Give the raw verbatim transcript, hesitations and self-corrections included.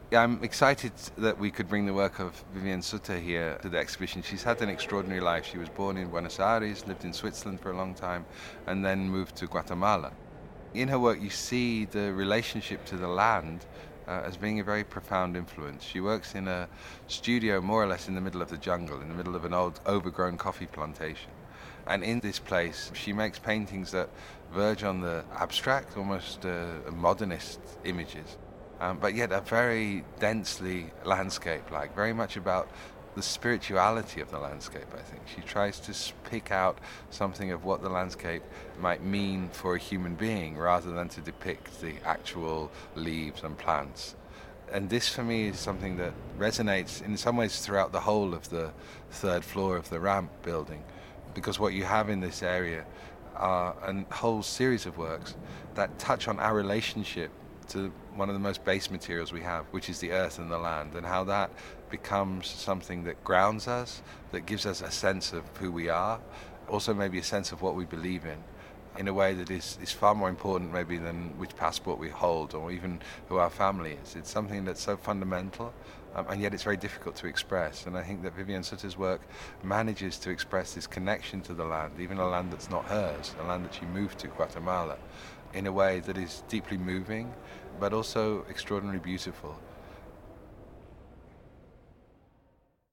Yeah, I'm excited that we could bring the work of Viviane Sutter here to the exhibition. She's had an extraordinary life. She was born in Buenos Aires, lived in Switzerland for a long time, and then moved to Guatemala. In her work, you see the relationship to the land uh, as being a very profound influence. She works in a studio more or less in the middle of the jungle, in the middle of an old overgrown coffee plantation. And in this place, she makes paintings that verge on the abstract, almost uh, modernist images, um, but yet are very densely landscape-like, very much about the spirituality of the landscape, I think. She tries to pick out something of what the landscape might mean for a human being rather than to depict the actual leaves and plants. And this for me is something that resonates in some ways throughout the whole of the third floor of the ramp building, because what you have in this area are a whole series of works that touch on our relationship to one of the most base materials we have, which is the earth and the land, and how that becomes something that grounds us, that gives us a sense of who we are, also maybe a sense of what we believe in, in a way that is, is far more important maybe than which passport we hold or even who our family is. It's something that's so fundamental, um, and yet it's very difficult to express. And I think that Viviane Sutter's work manages to express this connection to the land, even a land that's not hers, a land that she moved to, Guatemala, in a way that is deeply moving, but also extraordinarily beautiful.